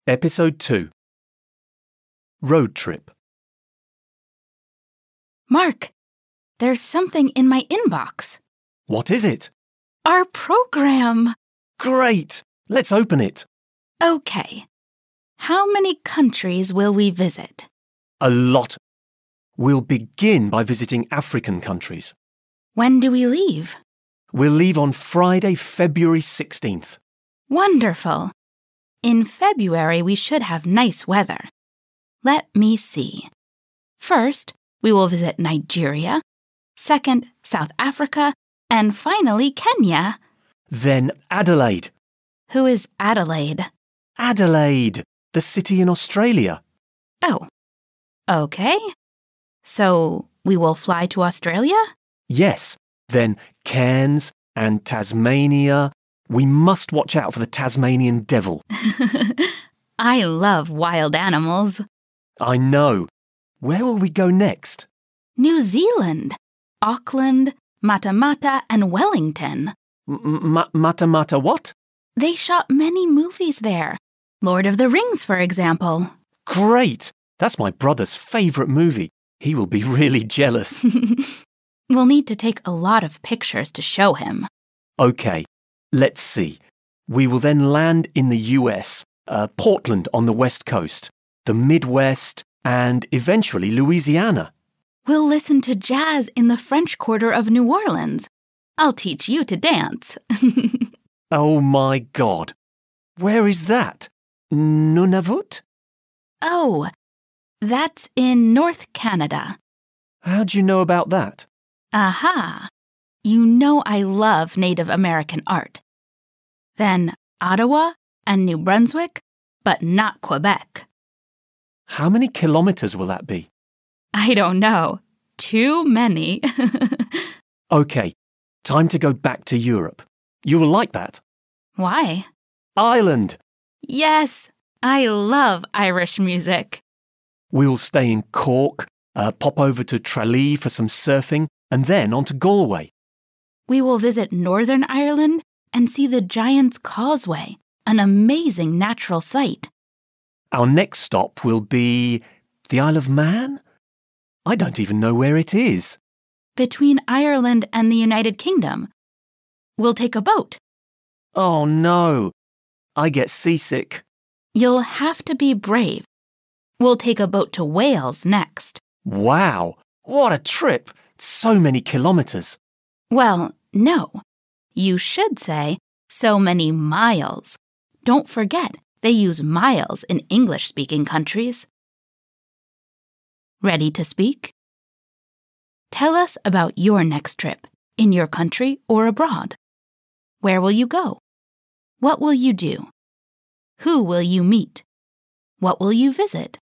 Episode 2. Road Trip. Mark, there's something in my inbox. What is it? Our program. Great! Let's open it. Okay. How many countries will we visit? A lot. We'll begin by visiting African countries. When do we leave? We'll leave on Friday, February 16th. Wonderful. In February, we should have nice weather. Let me see. First, we will visit Nigeria. Second, South Africa. And finally, Kenya. Then Adelaide. Who is Adelaide? Adelaide, the city in Australia. Oh, okay. So we will fly to Australia? Yes, then Cairns and Tasmania. We must watch out for the Tasmanian devil. I love wild animals. I know. Where will we go next? New Zealand, Auckland, Matamata, and Wellington. Matamata what? They shot many movies there. Lord of the Rings, for example. Great! That's my brother's favourite movie. He will be really jealous. We'll need to take a lot of pictures to show him. OK, let's see. We will then land in the US, Portland on the West Coast, the Midwest, and eventually Louisiana. We'll listen to jazz in the French Quarter of New Orleans. I'll teach you to dance. Oh my God. Where is that? Nunavut? Oh, that's in North Canada. How do you know about that? Aha! You know I love Native American art. Then Ottawa and New Brunswick, but not Quebec. How many kilometres will that be? I don't know. Too many. OK, time to go back to Europe. You will like that. Why? Ireland! Yes, I love Irish music. We will stay in Cork, pop over to Tralee for some surfing, and then on to Galway. We will visit Northern Ireland and see the Giant's Causeway, an amazing natural sight. Our next stop will be the Isle of Man? I don't even know where it is. Between Ireland and the United Kingdom. We'll take a boat. Oh no, I get seasick. You'll have to be brave. We'll take a boat to Wales next. Wow, what a trip! So many kilometres. Well, no. You should say, so many miles. Don't forget, they use miles in English-speaking countries. Ready to speak? Tell us about your next trip, in your country or abroad. Where will you go? What will you do? Who will you meet? What will you visit?